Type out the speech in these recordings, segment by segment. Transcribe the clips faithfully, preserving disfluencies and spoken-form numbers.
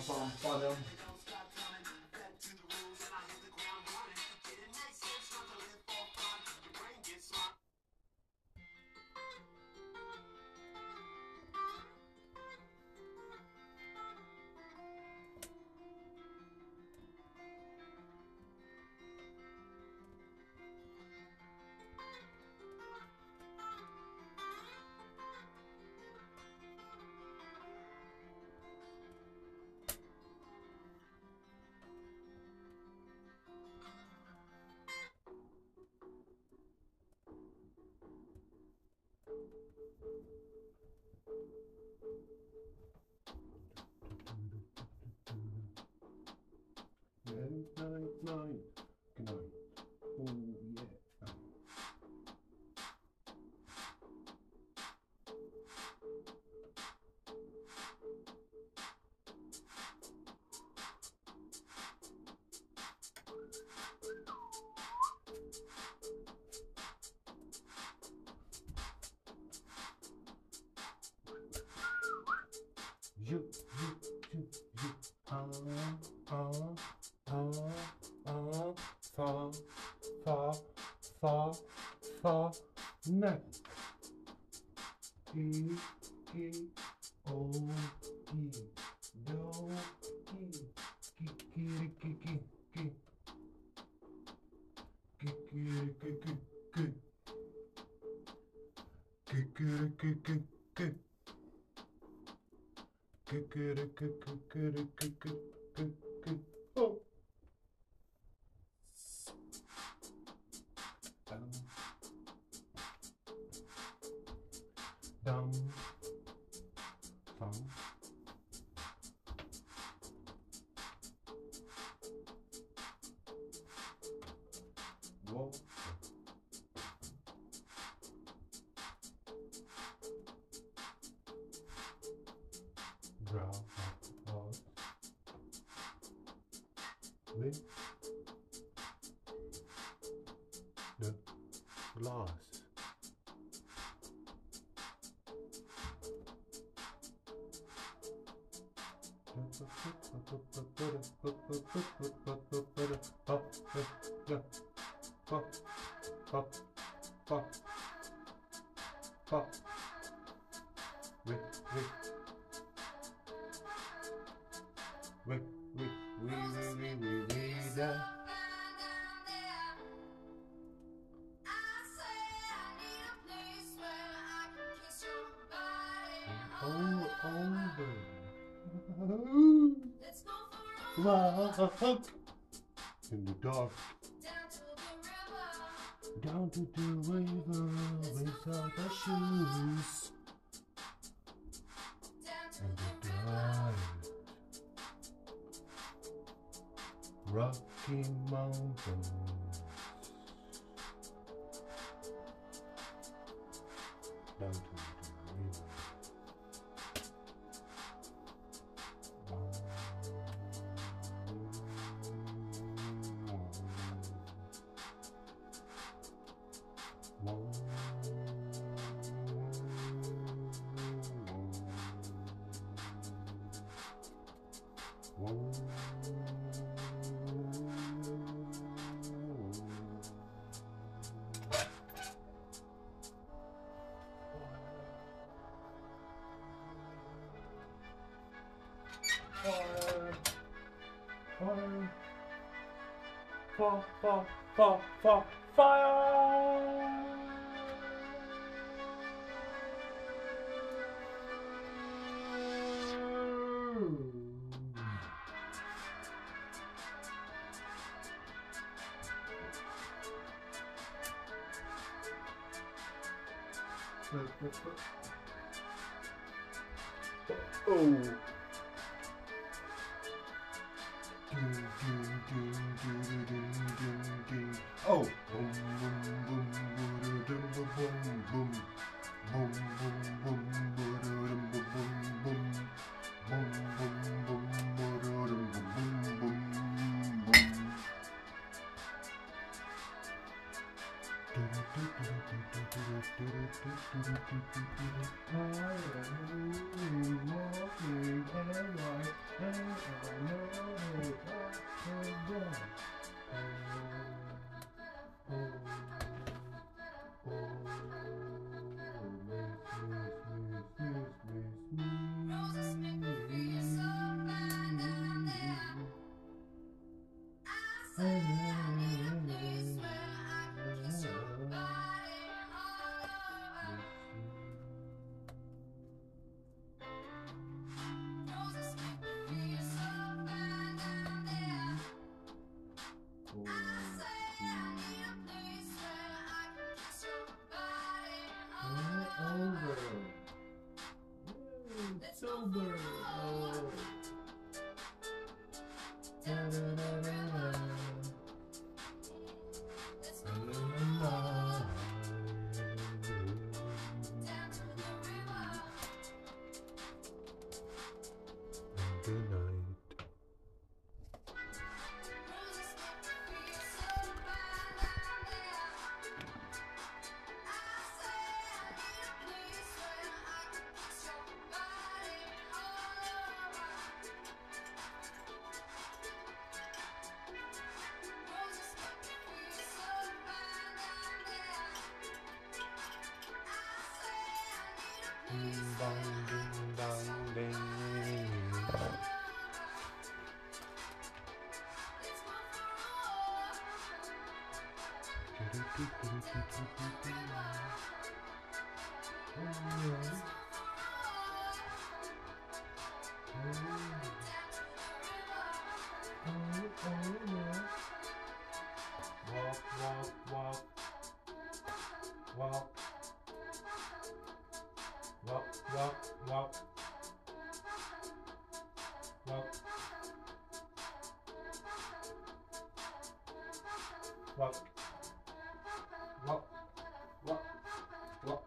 pam, padam. Night, night, night, good night. Oh yeah. You, you, you, you, ah, ah, ah, ah, fa, fa, fa, fa, night. E, E, O, E, do, E, ki, ki, ki, ki, ki, ki, ki, ki, ki, ki, ki, ki, ki, ki, ki. Oh. Dum, dum. Whoa. Brow out with the glass. Pop, pop, pop, pop. Wait, wait. Wait, wait, wait, wait, wait, wait, wait, da. All over. Walk in the dark. Down to the river without the shoes. And the dark. Rocky Mountains. Down to the river. Fire, fire, fire, fire, fire, fire, fire. Oh. Oh. Boom, boom, boom, boom, boom, boom, boom, boom, boom, boom, boom, boom, boom, boom, boom, boom. Sober. Oh. Da, da, da, da, da. Good night. Ding dong, ding dong, ding. Walk, walk, walk. Walk. Walk, walk, walk. Walk. Walk. Walk. Walk. Walk.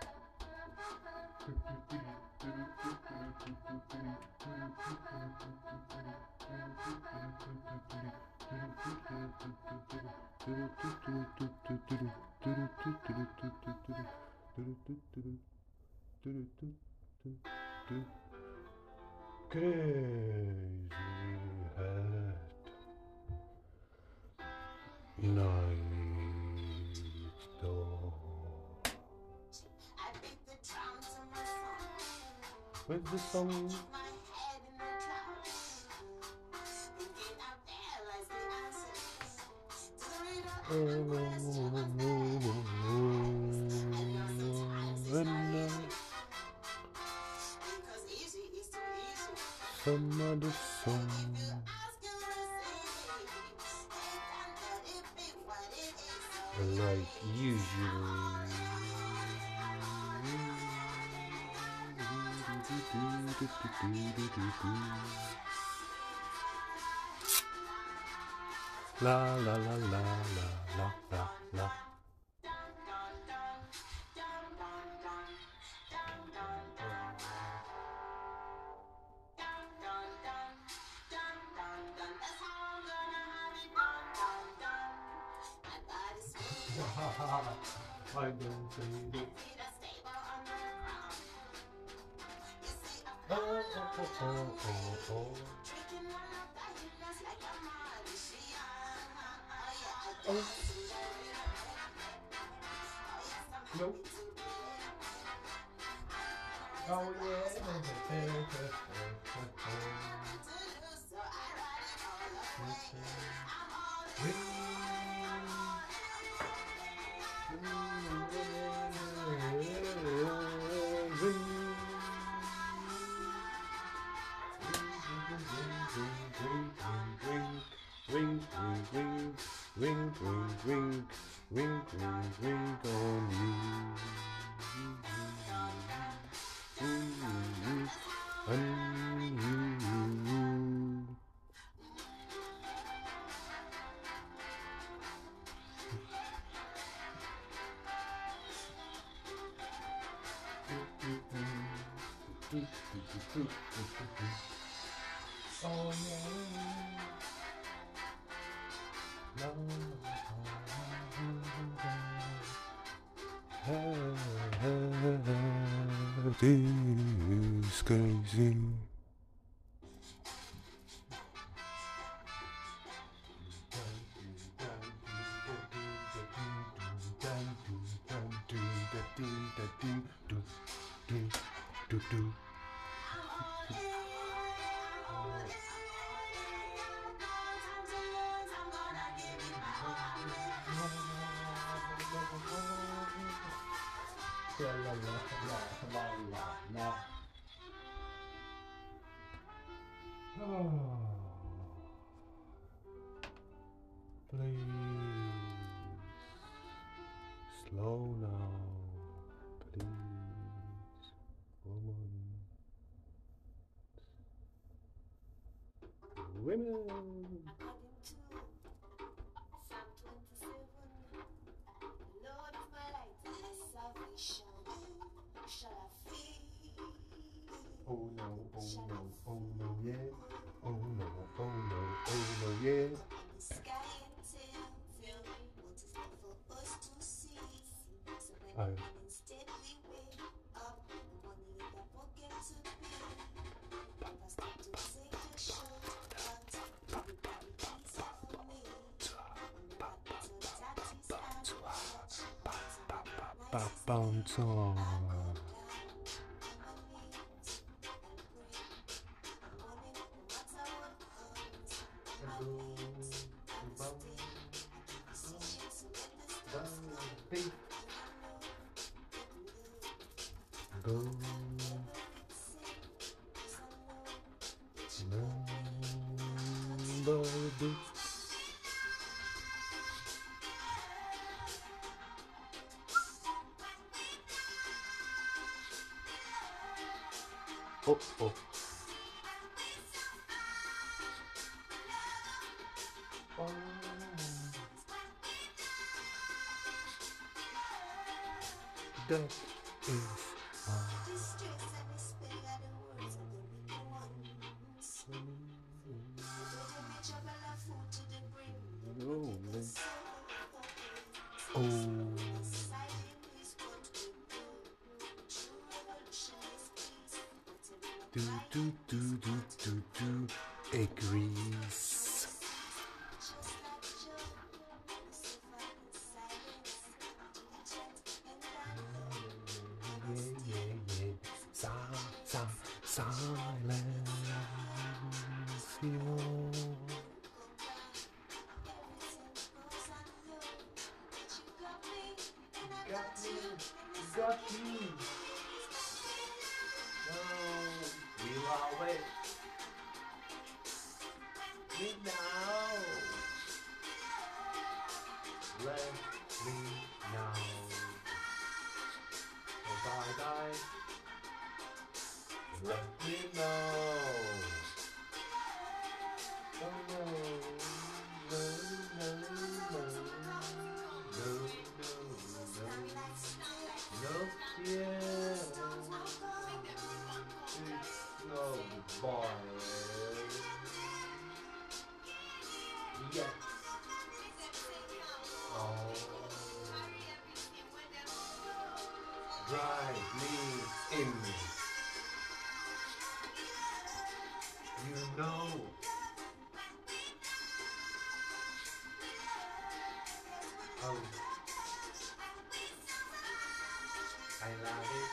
Crazy hat night door. Where's the song? Some other song. Like usually. La la la la la la la la. I don't say it. Oh, oh, oh, oh, oh, oh. Oh. No. Oh, yeah. Wink, wink, wink, wink, wink, wink, wink, wink, wink on you. On you. Oh yeah. La, la, la, la, la. world is crazy. La la la la la la. Oh. Please slow now, please, woman, women. Oh no, oh no, oh no, yeah. Oh no, oh no, oh no, yeah. I bounce on. Go. Number Oh, oh. Oh. That is oh. Do do do do do do agrees. Yeah, yeah, yeah. Sa sa silence. Got me, got me. Oh, we will wait. Me now. Let me know. Oh, bye bye. Let me know. Oh no, no, no, no, no, no, no, no, yeah. No, boy. Yeah. Oh. Drive me in. You know. Oh. I love it.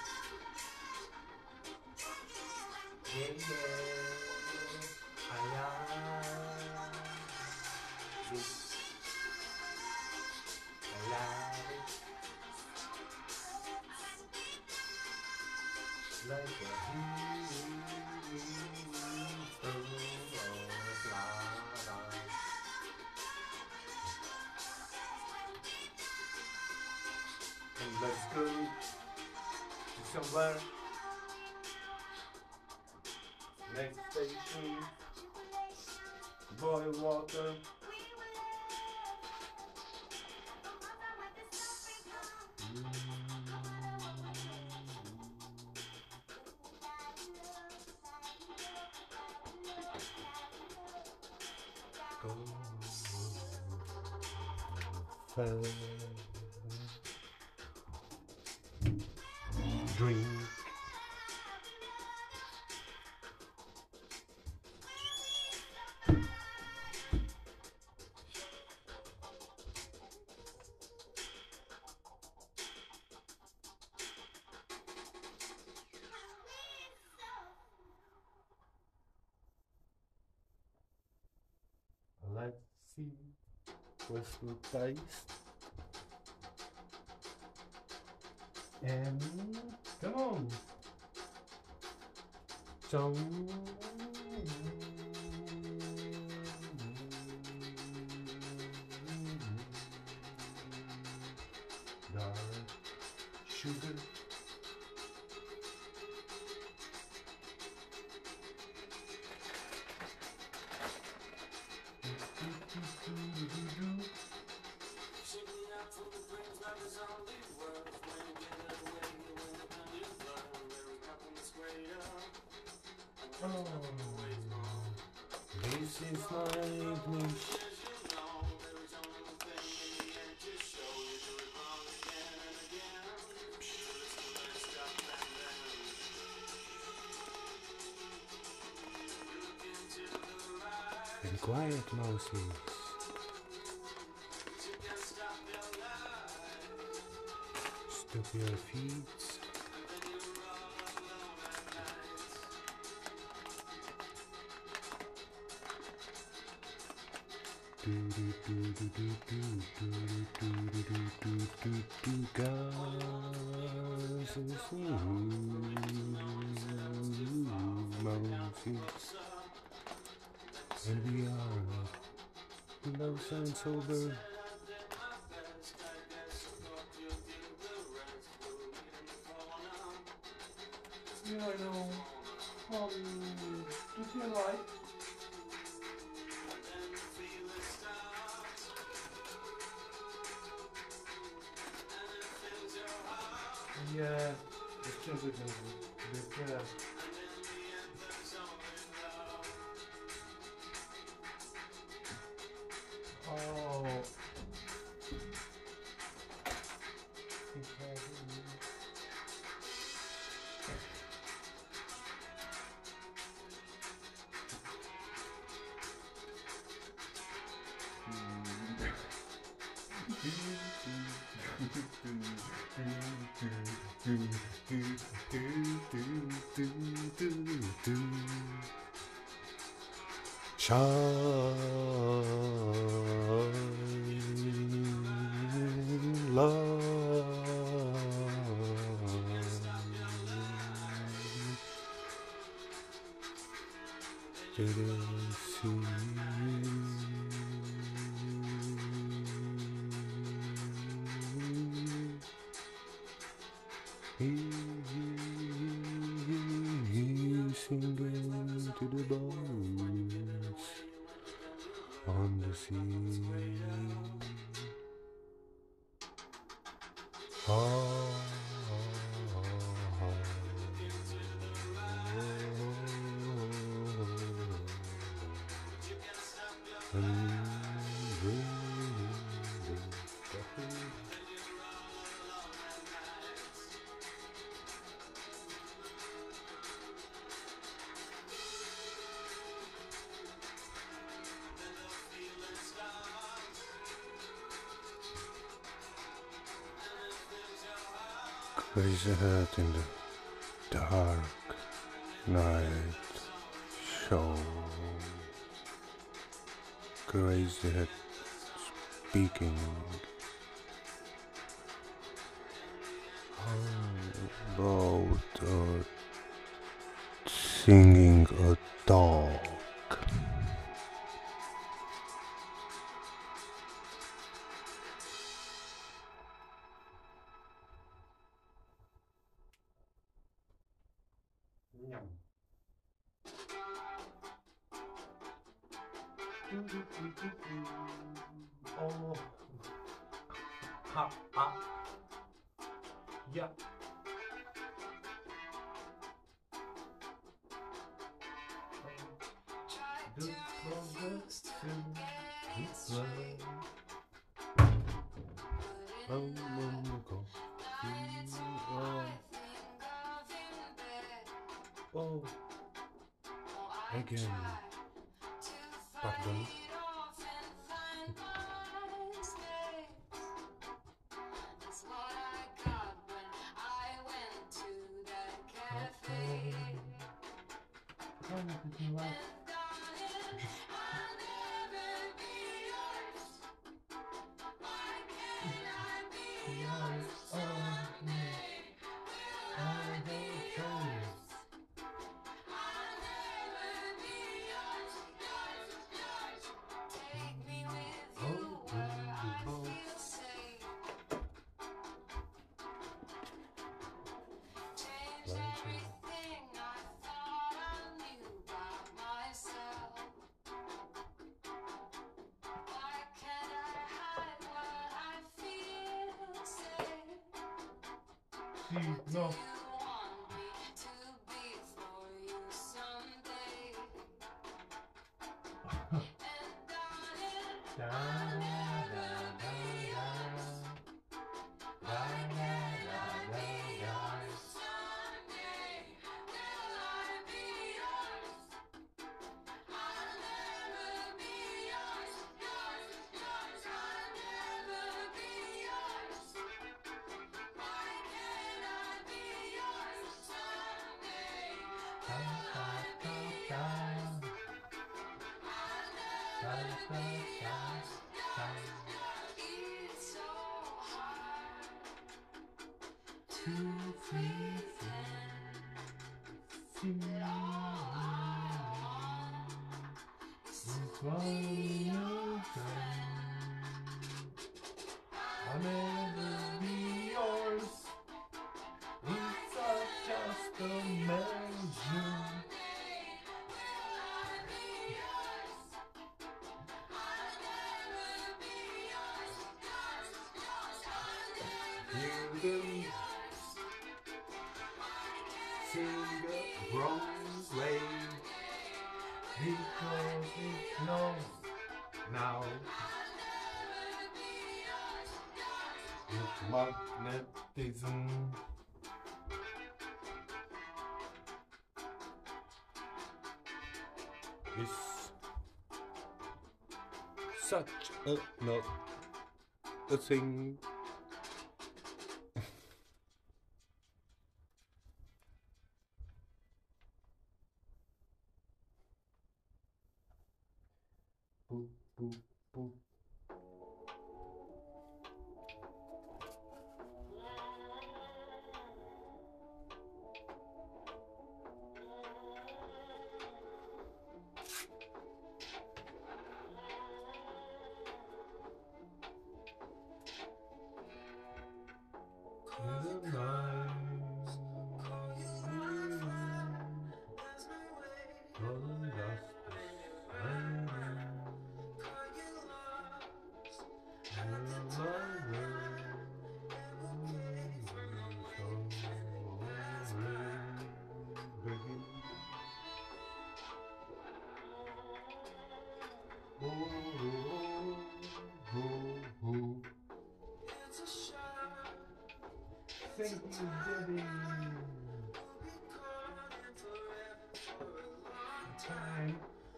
Yeah, yeah. I love it. I love it. Like a hero of lava. And let's go to somewhere. Next station, boil water. Mm. Go. Fell. Drink Let's see what's the taste. And come on. So dark sugar. Oh, this is my English. And quiet mouses. Stop your feet. Do do do do do do do do do do do do guys and mouses, and we are low and sober. Yeah, I know. Um, do you like? Yeah, it's just a good yeah. Oh. Shine light. It is singing to the boats on the sea. Ah, crazy head in the dark night show. Crazy head speaking about uh, singing a dog. Yum. Oh, ha, ha, yeah. The progress to this way. Oh, wonderful. Oh, oh, again. Pardon. tří, no. Da, da, da, da, da, da, da, da. Two, three, four, I'll never be yours. It's just a measure. You can sing the wrong way because it's no now. It's magnetism. Is such a not a thing. Boop, boop, boop. Thank you, Debbie. Time.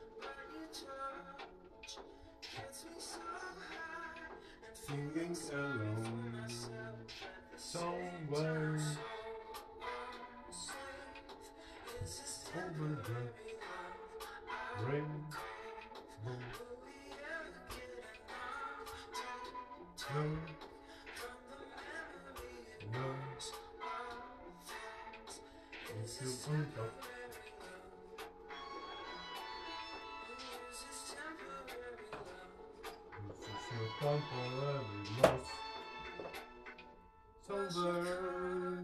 Singing alone somewhere over the rainbow. No, no, it's your point of temporary loss. Somewhere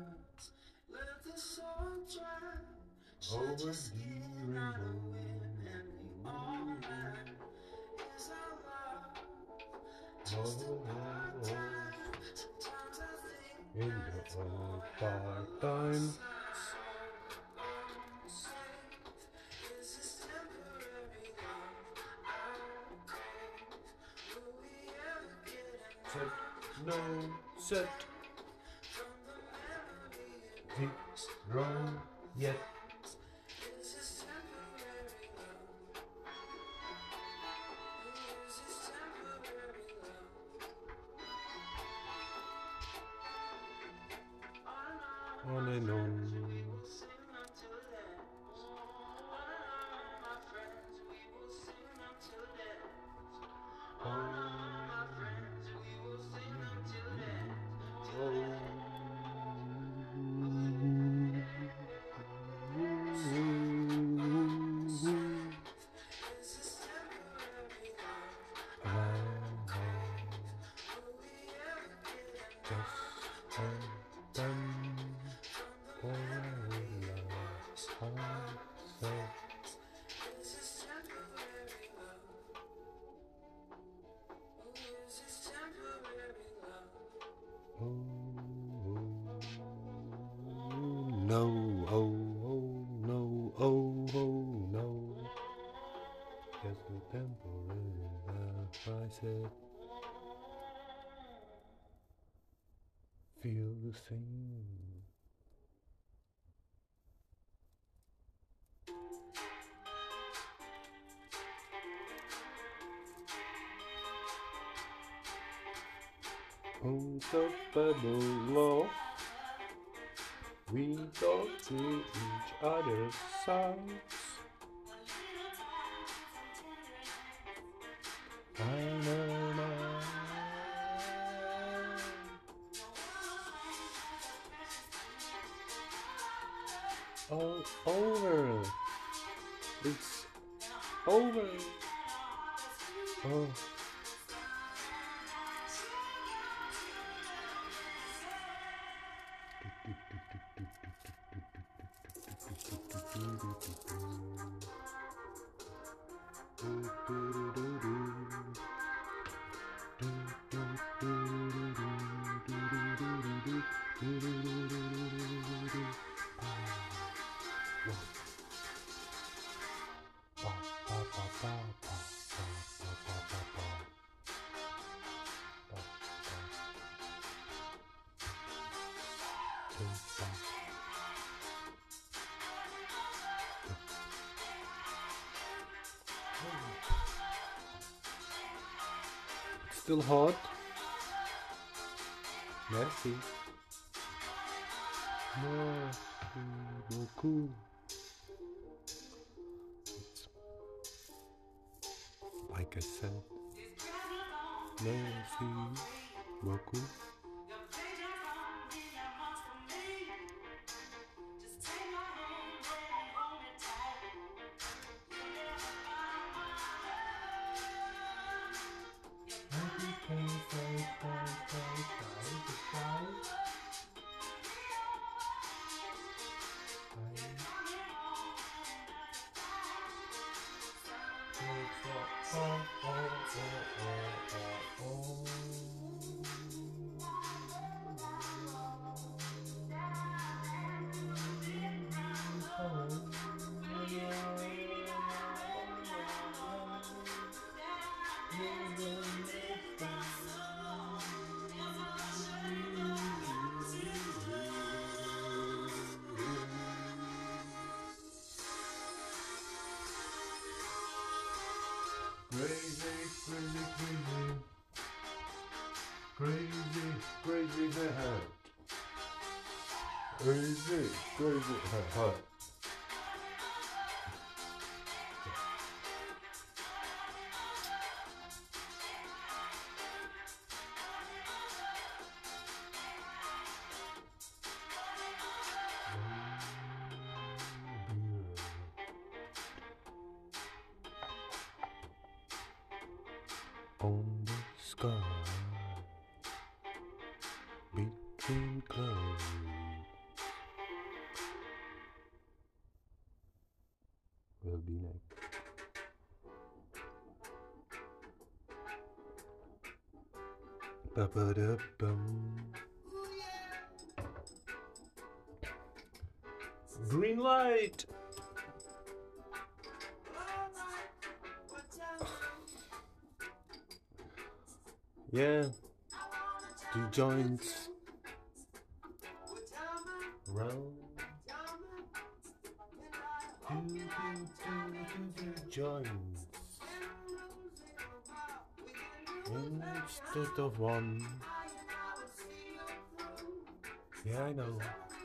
over the rainbow. Oh, oh, oh. In the old dark time. Set, no, set. Zero yet. On and on. Oh, oh, oh. feel the same. Unstoppable love. We go to each other's sides. I know now. All over. It's over. Oh. Still hot. Merci. Merci beaucoup. It's like I said. Merci beaucoup. Crazy, crazy, crazy, crazy, crazy head. Crazy, crazy head. On the sky, between clouds, will be next. Ba-ba-da-bum. Green light. Yeah, two joints round, two, two, two, two, two joints instead of one. Yeah, I know.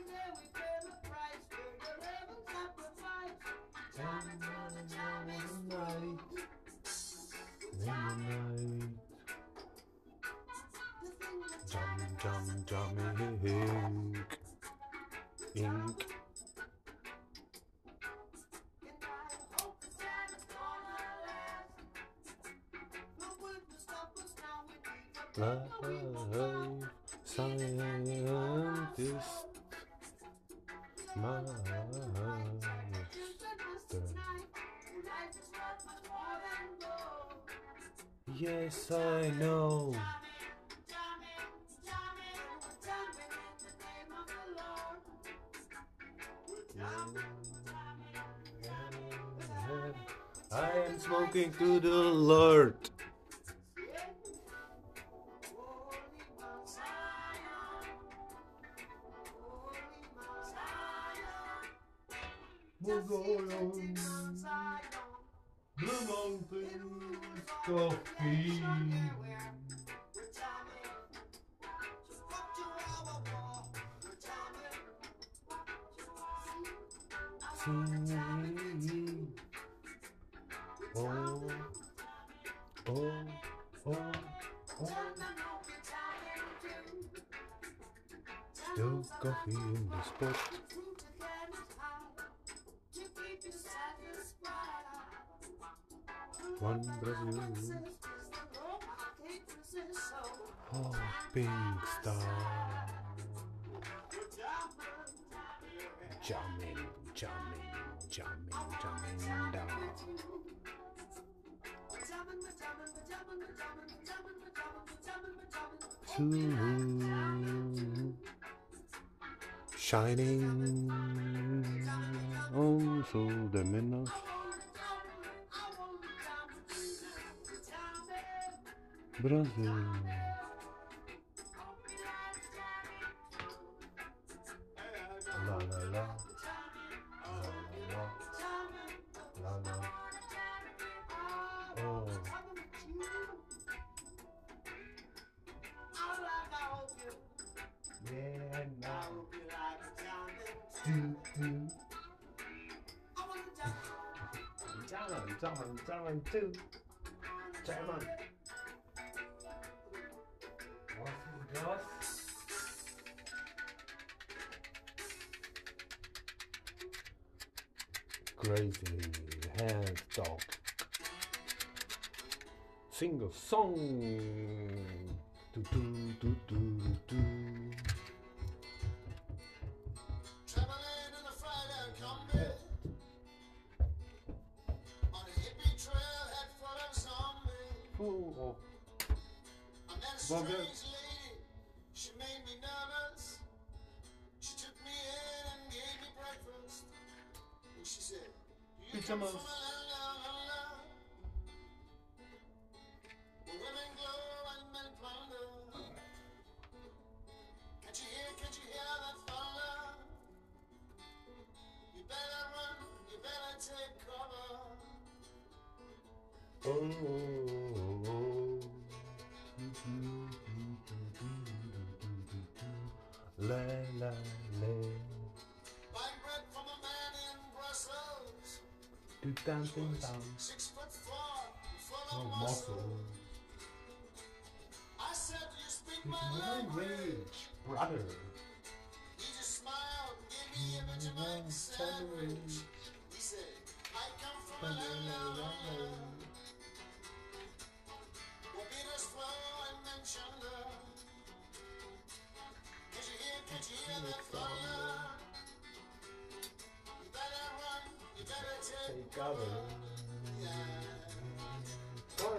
Jum, jum, jum, ink, ink. Life scientist, master. Yes, I know. I am smoking to the Lord. Zion, the mountains coffee. Singing. Oh, oh, oh, oh. Still coffee in the spot. One Brazil. Oh, pink star. Jamming, jamming, jamming, jamming down. Two shining on through the midnight. Brazil. La la la. La la la. La la. Oh. Yeah, now. Do, do. Jamming, jamming, jamming too. Jamming. Crazy hand dog. Sing a song. Do do do do do. Traveling in a Friday combi on a hippie trailhead full of zombies. Oh, I met a Bobby. strange lady. She made me nervous. She took me in and gave me breakfast. And she said, "You come Pajamas. from a land down under, where women glow and men plunder. Can't you hear? Can't you hear that thunder? You better run. You better take cover." oh, oh, oh. La la la. Buying bread from a man in Brussels. Do dancing down. Six foot four, full Oh, of muscle. muscle. I said, "Do you speak It's my my language?" rage, brother. He just smiled, gave me a Vegemite sandwich. He said, "I come from a land down under, where beaters flow and men chunder. Can't you hear, can't you hear that thunder? You better run, you better take Take cover. yeah." Oh.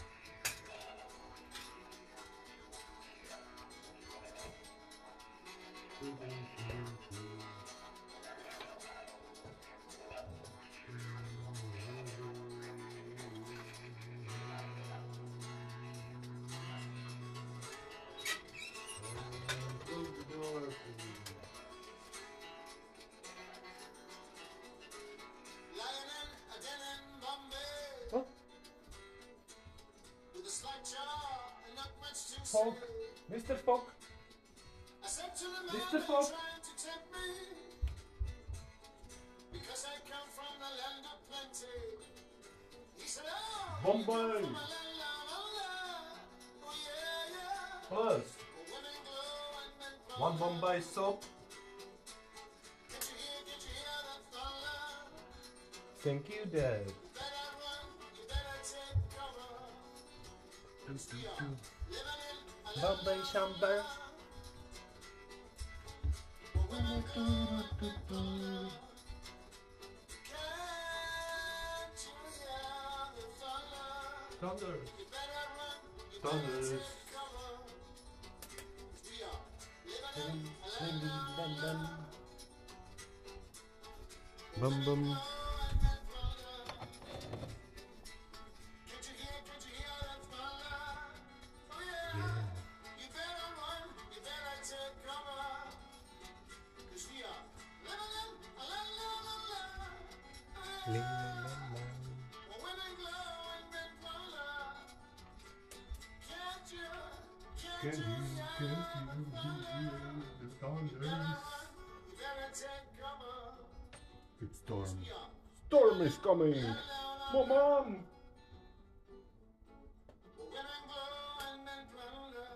Lying in a den in Bombay, What? with a slight jaw and not much to Fogg. say. Mister Fogg. I said to the man Mister that Fogg. trying to tempt me, because I come from the land of plenty. He said, "Oh, Bombay. you come from a land down under. Oh yeah, yeah. First, Where women glow and men one plunder. Bombay soap. Can't you hear, can't you hear that thunder? Thank you, Dad. You better run, you better take cover. We are living in a land Bombay down Shamba. under, where women glow and men plunder. Can't you hear the thunder? Thunder. You better run, you Thunder. better take cover. We are living in a land down under, Bum bum. glow and men plunder. Can't you hear, can't you hear that thunder? Oh yeah. Yeah. You better run, you better take cover. 'Cause we are living in a land down under, women glow and men color. Can't you, Can can't you you, hear can you the thunder? hear the You thunders? better run, you better take cover. It's storm. Yeah. Storm is coming! Mom! Women glow and men plunder.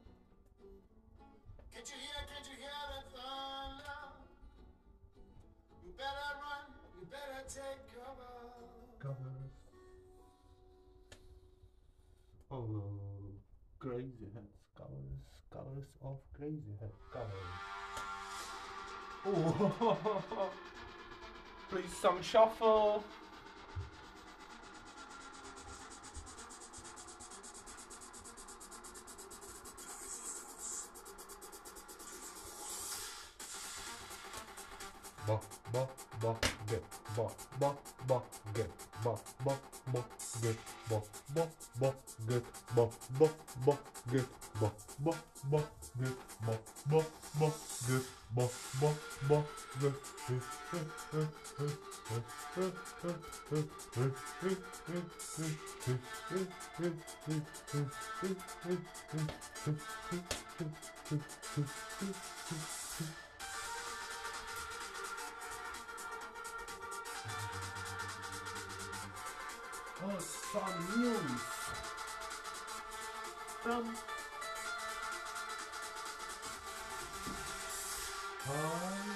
Can't you hear, can't you hear the thunder? You better run, you better take cover. Covers. Oh, crazy heads. Covers, covers of crazy head. Covers. Oh, please some shuffle. Ba ba ba get ba ba ba get ba ba ba get ba ba ba get ba ba ba get ba ba ba get ba ba ba get ba ba ba get. Oh, some news from Hi.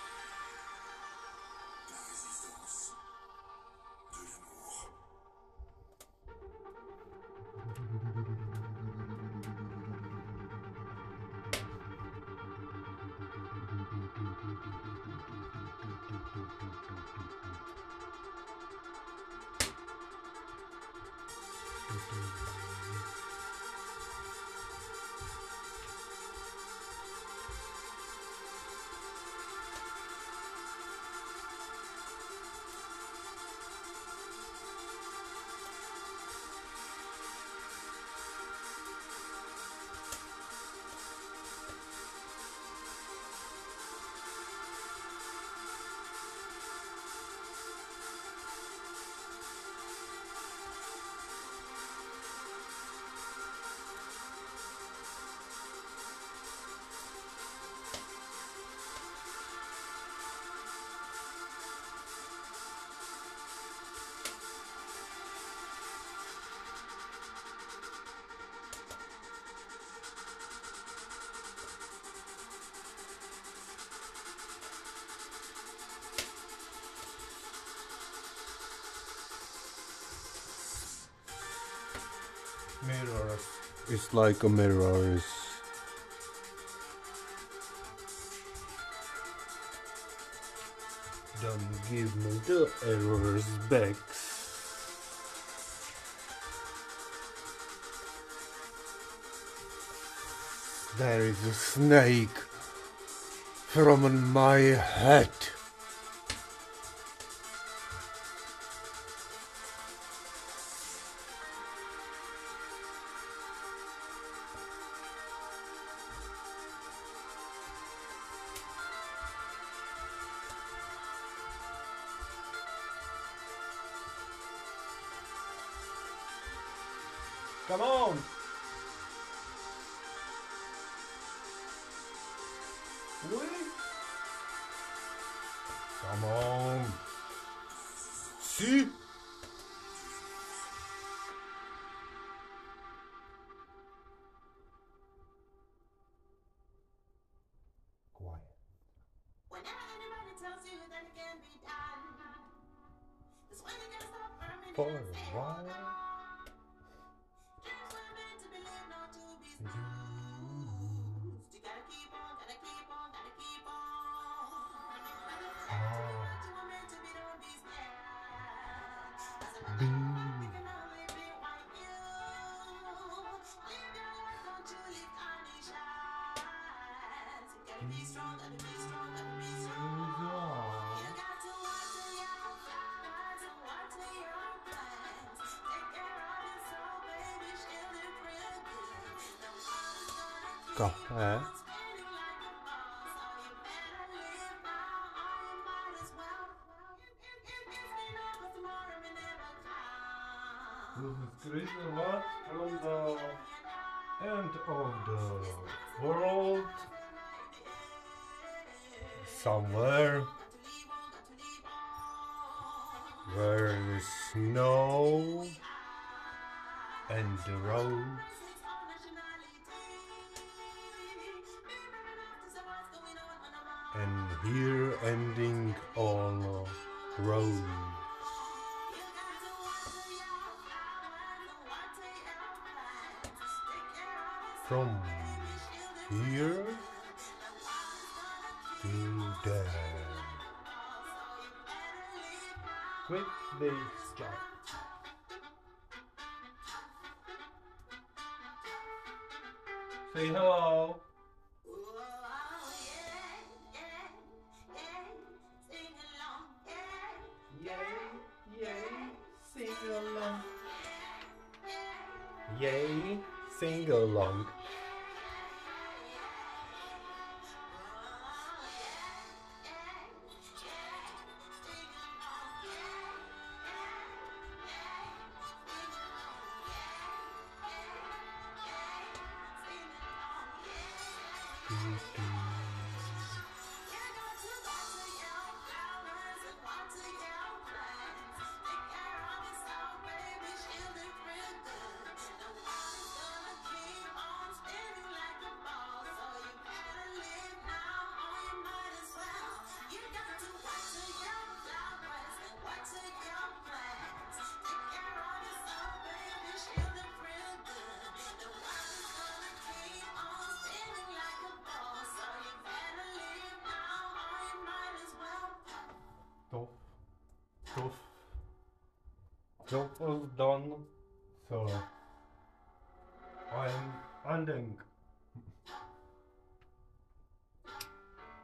Mirrors. It's like a mirrors. Don't give me the errors back. There is a snake from my head. Come on! Really? Come on! See? Quiet. Whenever anybody tells you that it can be done, that's when you gotta stop permanently For and say, a hold while. on. Dreams were meant to be lived, not to be snoozed. You gotta keep on, gotta keep on, gotta keep on. Ah. What you were meant to be, don't be scared. As a Be. you can only be what you. Live your life, don't you leave any shines. You gotta be strong, gotta be strong, gotta be strong. You got to watch till your plans and watch till your plans. Take care of your soul, baby, shield it real good. The world is gonna Go keep ahead. on spinning like a ball, so you better live now, or you might as well. It, it, it, it's been a Chris Watt from the end of the world. Somewhere where the snow and the roads and here ending all roads. From here to there. Quit this job. Say hello. Yay, yay, sing along. Yay, sing along. Tough, tough, job was done, so I'm ending.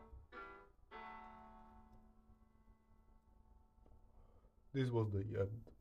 This was the end.